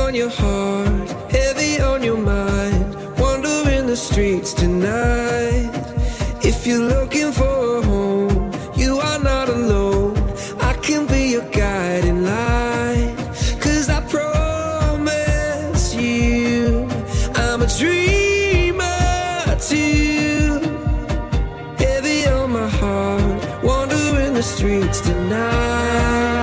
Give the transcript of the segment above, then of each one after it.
on your heart, heavy on your mind, wandering the streets tonight. If you're looking for a home, you are not alone. I can be your guiding light, 'cause I promise you I'm a dreamer too. Heavy on my heart, wandering the streets tonight.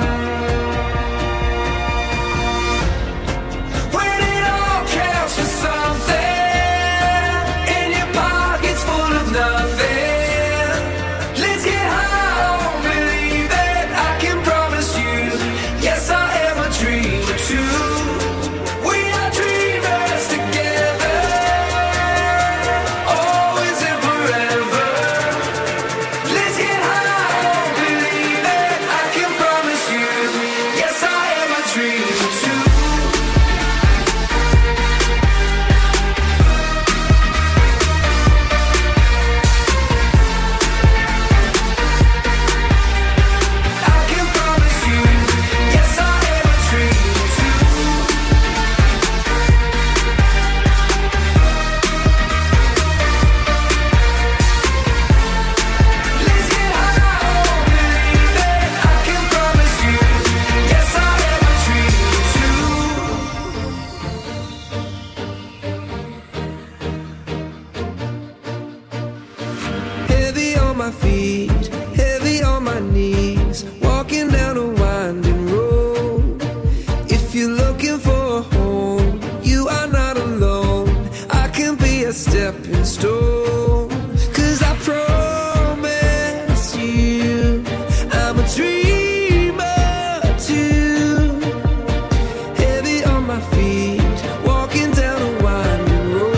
My feet, heavy on my knees, walking down a winding road. If you're looking for a home, you are not alone. I can be a stepping stone, 'cause I promise you I'm a dreamer too. Heavy on my feet, walking down a winding road.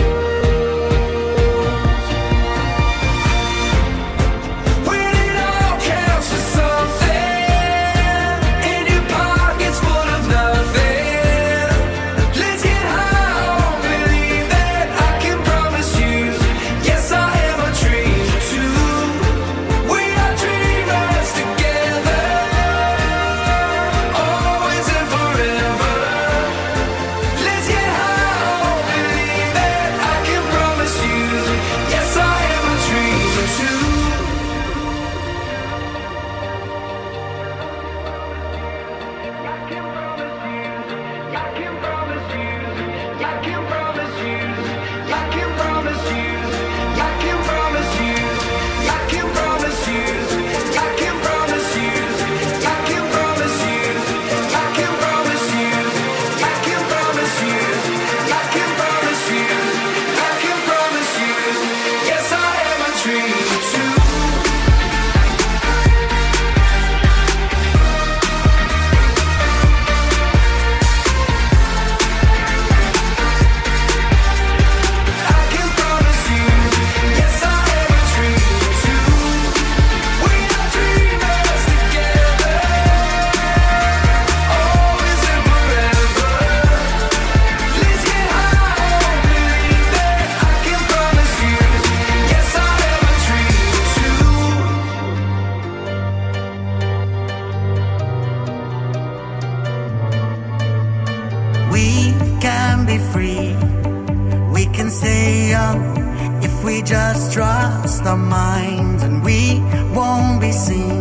Just trust our minds and we won't be seen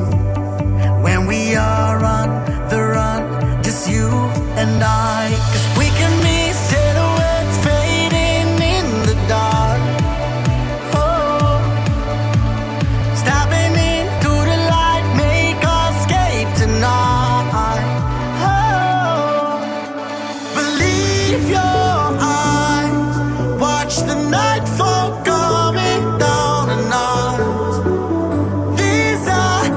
when we are on the run, just you and I. 'Cause we can be silhouettes fading in the dark. Oh, stepping into the light, make us escape tonight. Oh, believe your eyes, watch the night fall. These are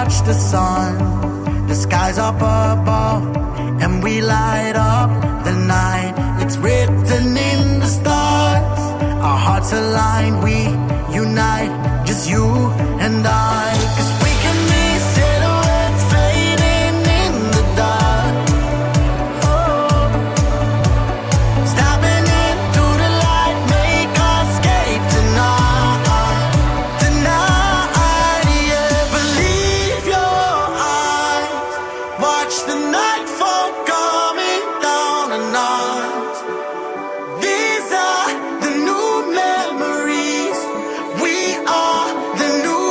watch the sun, the skies up above, and we light up the night. It's written in the stars. Our hearts align, we unite, just you and I. 'Cause we can be silhouettes fading in the dark. Oh, stepping into the light, make us escape tonight. Tonight, yeah. Believe your eyes, watch the nightfall coming down on us. These are the new memories. We are the new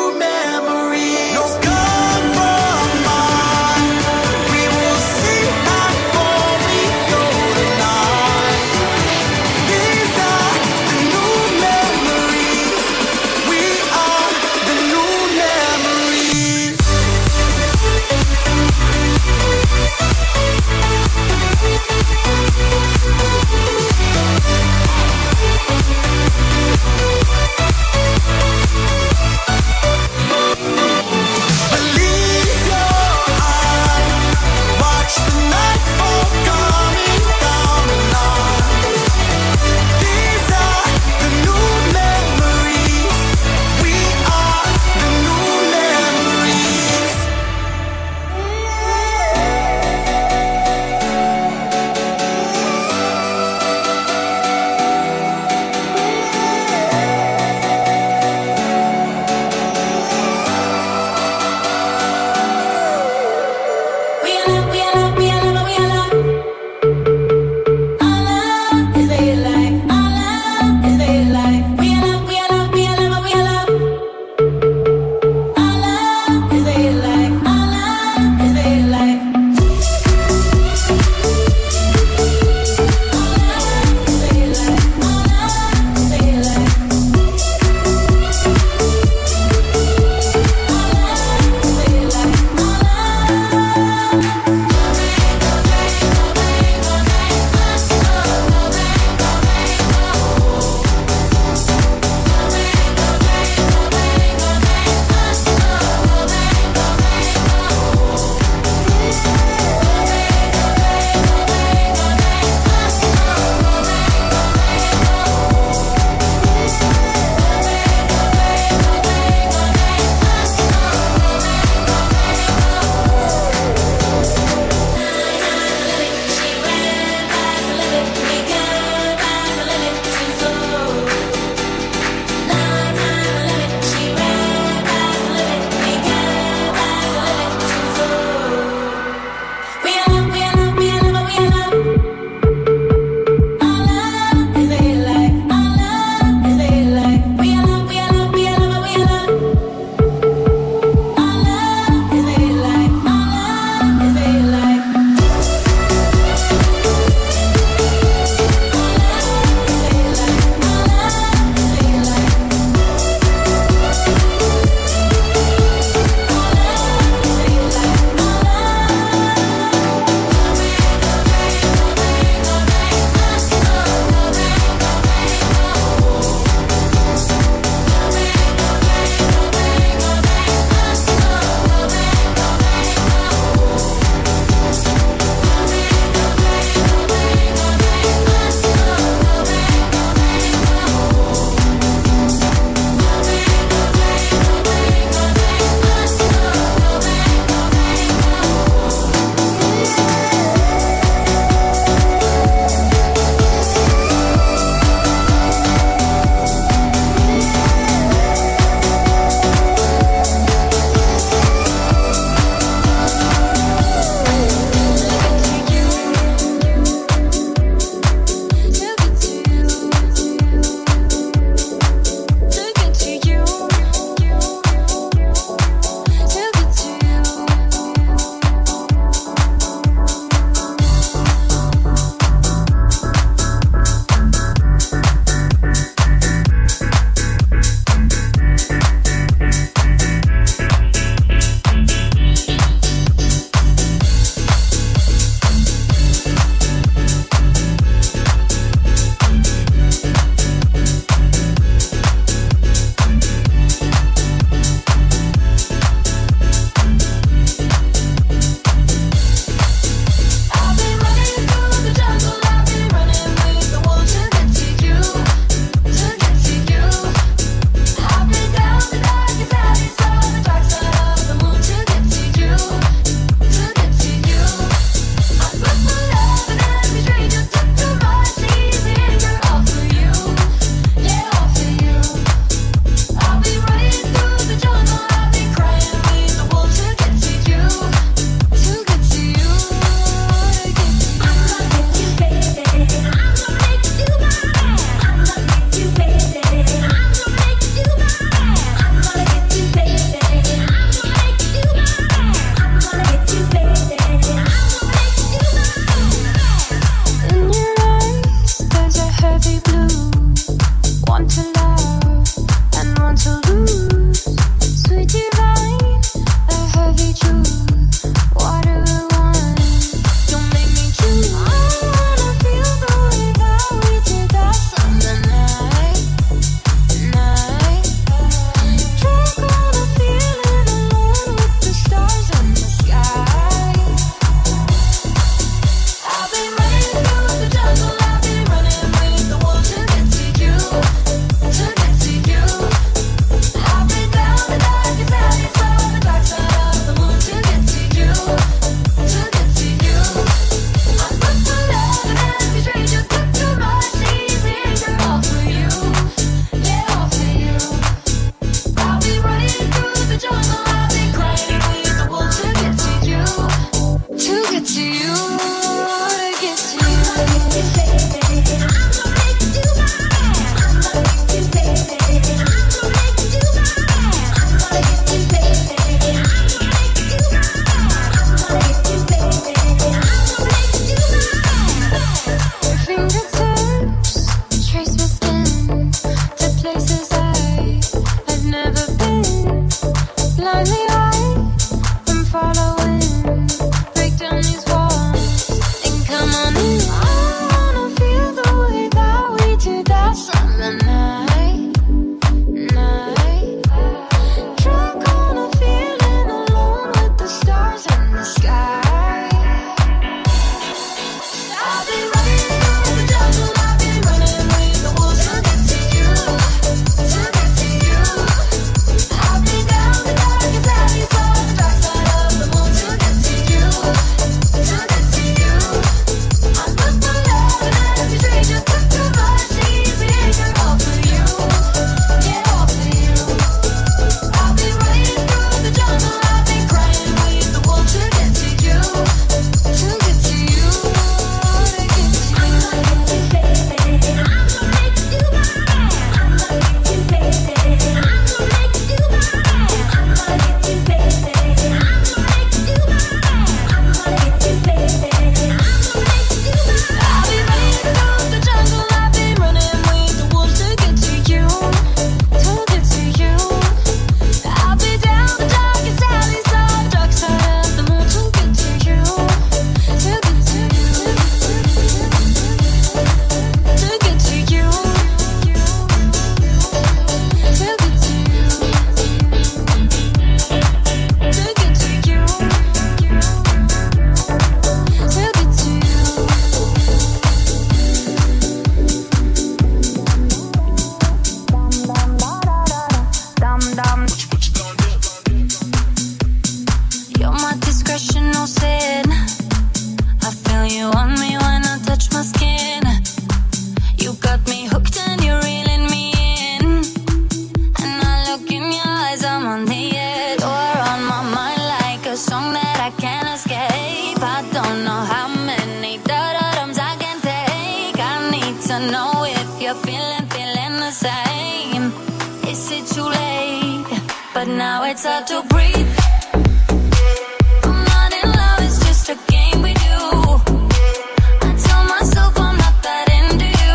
now it's hard to breathe. I'm not in love, it's just a game we do. I tell myself I'm not that into you,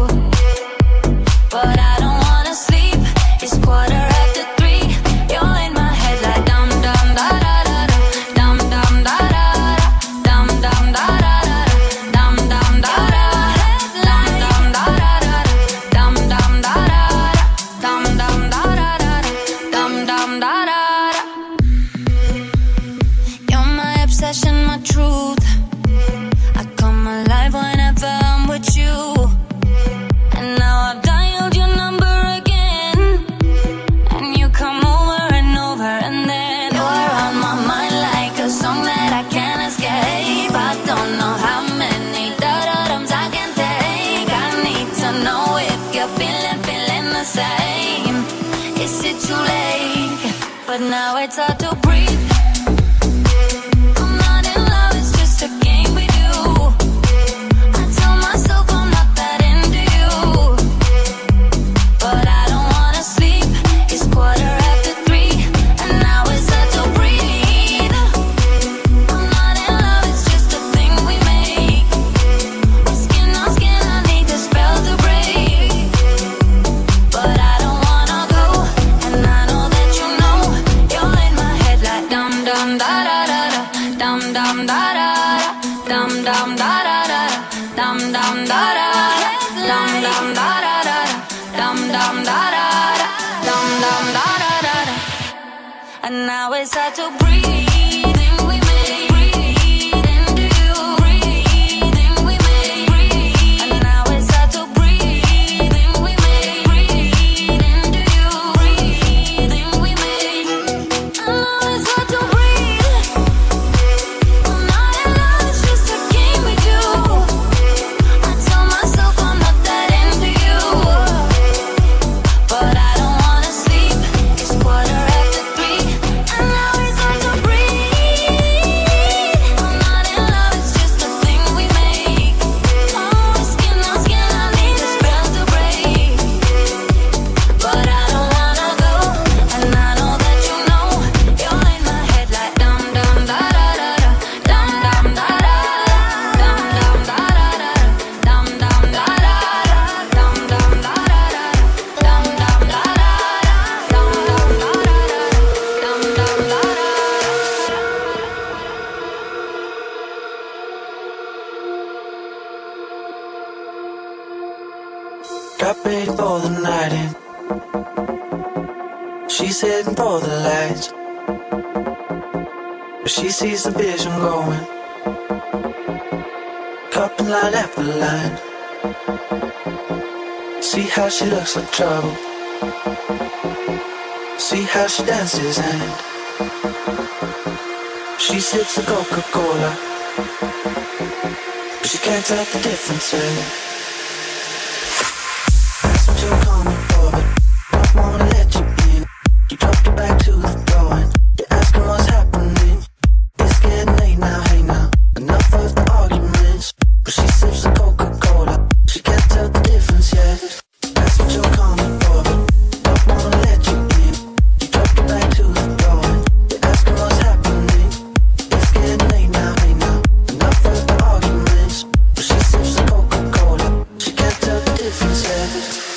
but I don't wanna sleep. It's 3:15. You're in my head like dum dum da da da da, dum dum da da da, dum dum da da da, dum dum da da, dum dum da da da, dum dum da da, dum dum da da da, dum dum da da. You're my obsession, my truth. I come alive whenever I'm with you. And now I've dialed your number again, and you come over and over, and then you're on my mind like a song that I can't escape. I don't know how many da-da-dums I can take. I need to know if you're feeling the same. Is it too late? But now it's hard to breathe. I'm not in love, it's just a game we do. I tell myself I'm not that into you, but I don't wanna sleep. It's 3:15, and now it's hard to breathe. I'm not in love, it's just a thing we make. We're skin on skin, I need the spell to break, but I don't wanna go. And I know that you know you're in my head like dum dum da da da da, dum dum da da da, dum dum da da da, dum dum da da, dum dum da da da, dum dum da da, dum dum da da da. And now it's hard to breathe. We make breathe into you. Breathing we make breathe. And now it's hard to breathe. We make breathe into you. Breathing we make. And now it's hard to breathe. I'm not in love, it's just a game we do. I tell myself I'm not that into you, but I don't wanna sleep. It's 3:15, and now it's hard to breathe. I'm not in love, it's just a thing we make. Oh, skin on skin, I need the spell to break, but I don't wanna go. And I know that you know you're in my head like dum dum da da da da, dum dum da da, dum dum da da da, dum dum da da, dum dum da da, dum dum da da, dum dum da da, dum dum da da. Got ready for the night in. She's heading for the lights, but she sees the vision going. Cupping line after line. See how she looks like trouble. See how she dances and she sips the Coca-Cola, but she can't tell the difference. That's what you're coming for, but don't wanna let you in. You drop your back to the floor and you're asking what's happening. It's getting late now, hey now. Enough of the arguments, but she sips the Coca-Cola. She can't tell the difference yet. That's what you're coming for, but don't wanna let you in. You drop your back to the floor and you're asking what's happening. It's getting late now, hey now. Enough of the arguments, but she sips the Coca-Cola. She can't tell the difference yet.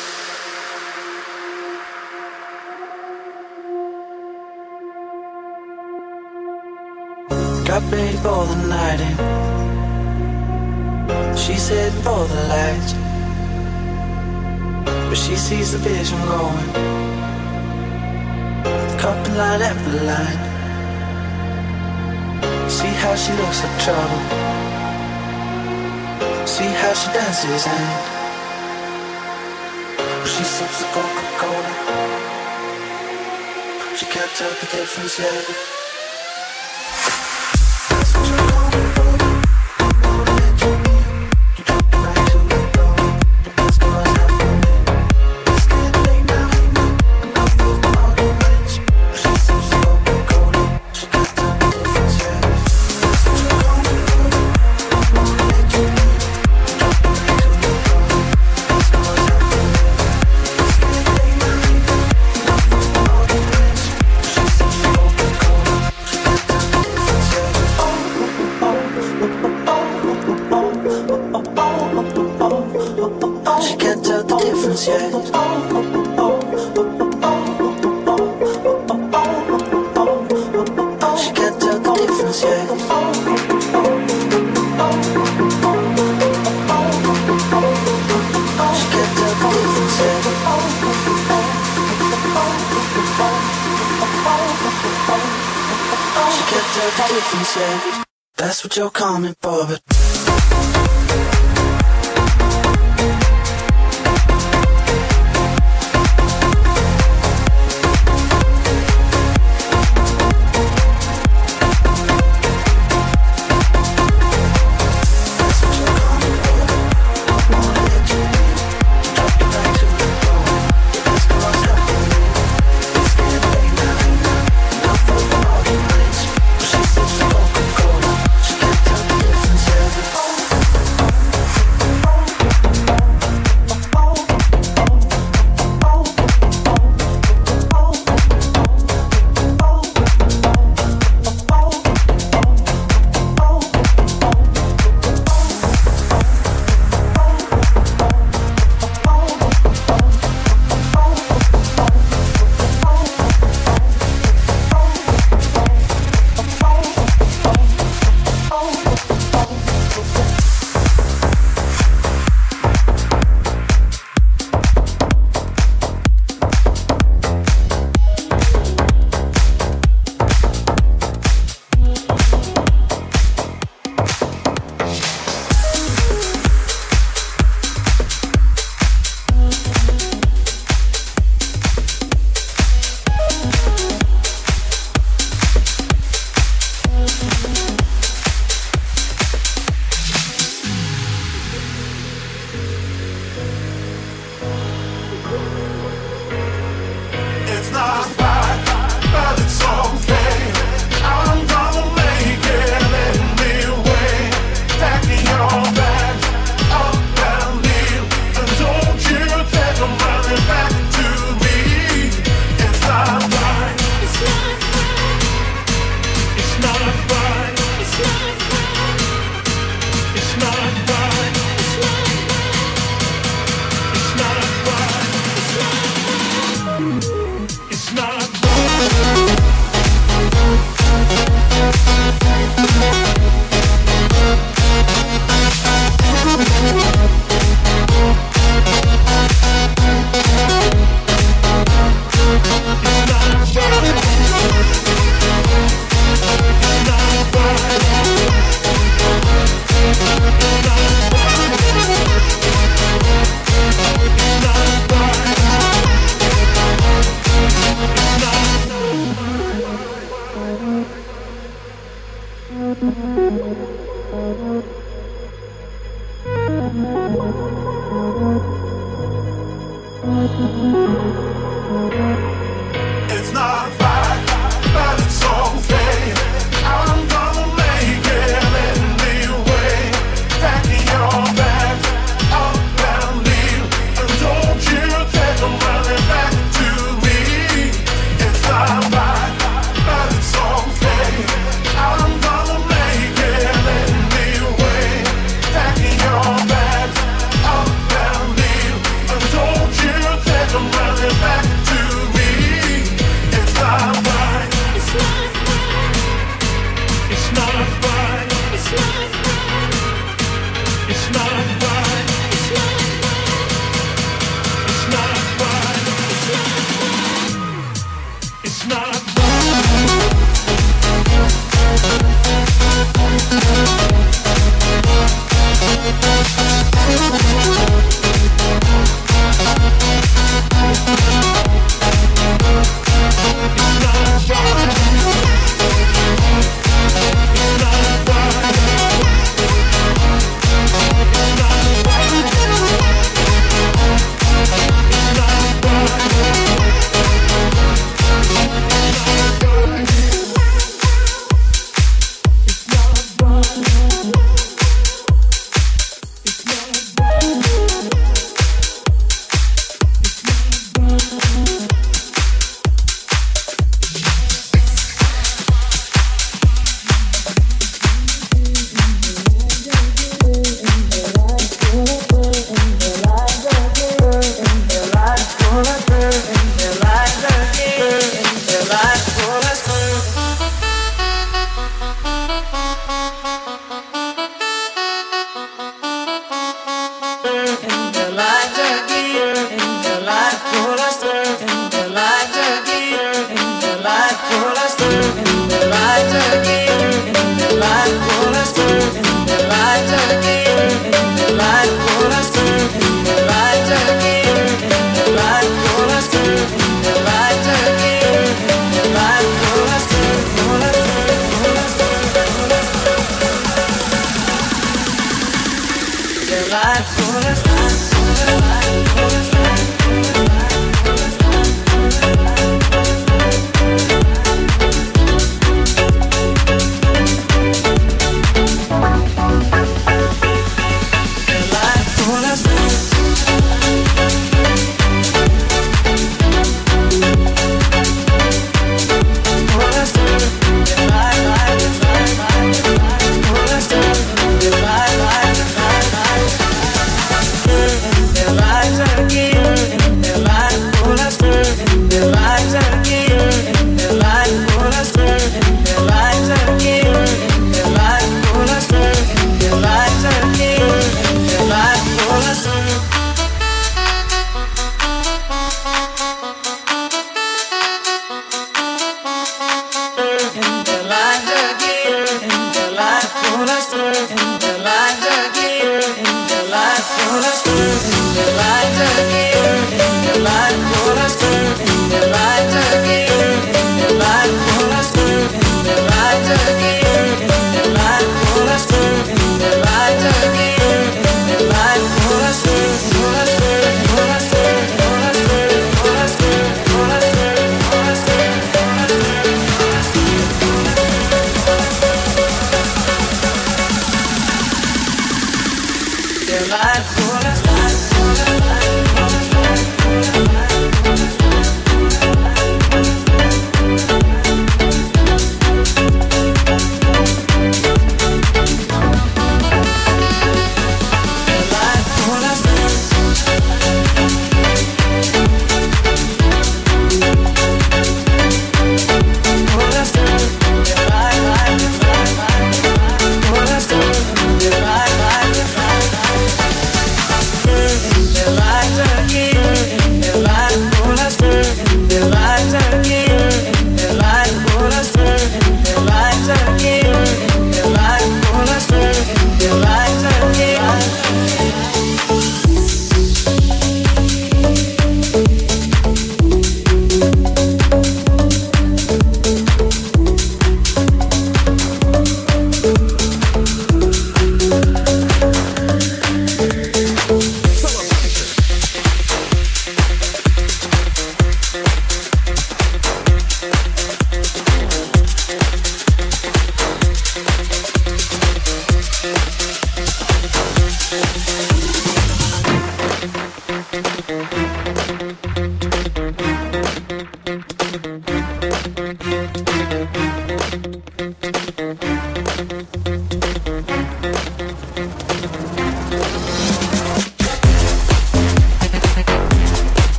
Got ready for the night in. She's heading for the lights, but she sees the vision going. Cupping line after line. See how she looks like trouble. See how she dances and she sips the Coca-Cola. She can't tell the difference yet. She difference yet. She can't tell the difference yet. She can't tell the difference yet. She can't tell the difference yet. That's what you're coming for, but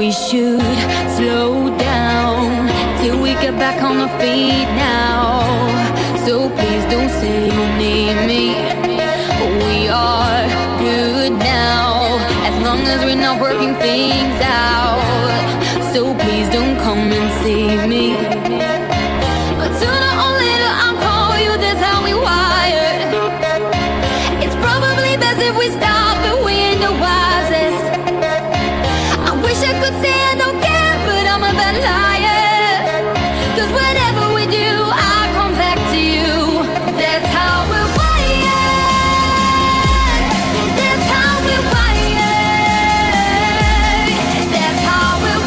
we should slow down till we get back on our feet now. So please don't say you need me. We are good now, as long as we're not working things out. So please don't come and see me. But sooner or later I'll call you, that's how we wired. It's probably best if we stop, but we ain't the wisest. I wish I could say I don't care, but I'm a bad liar. 'Cause whatever we do, I come back to you. That's how we're wired. That's how we're wired. That's how we're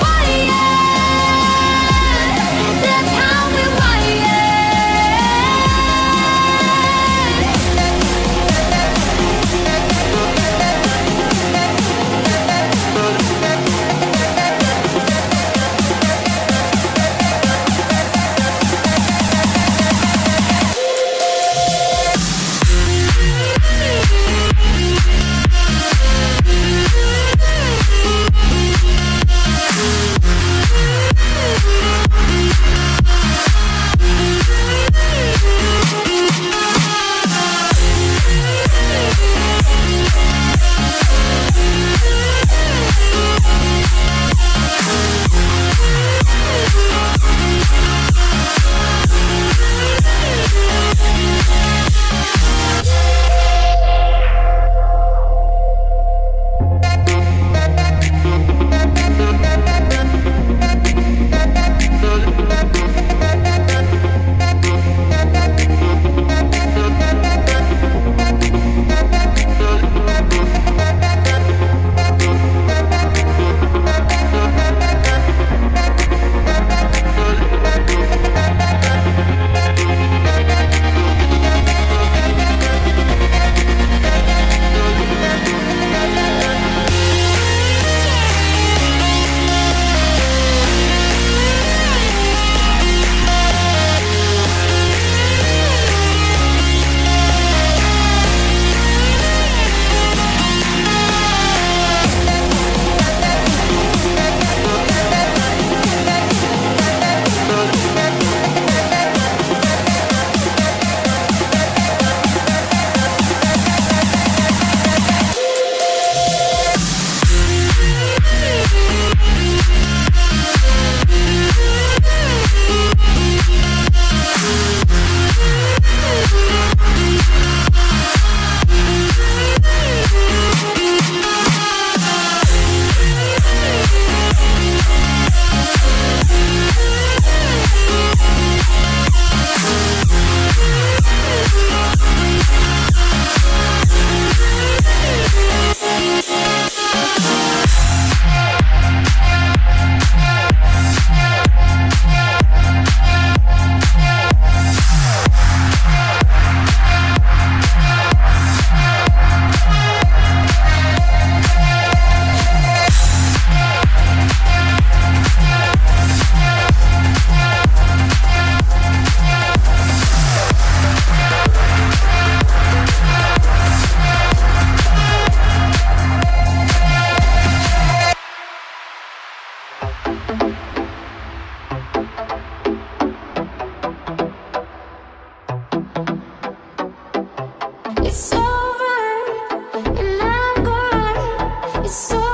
wired. That's how we're It's over, and I'm gone. It's over.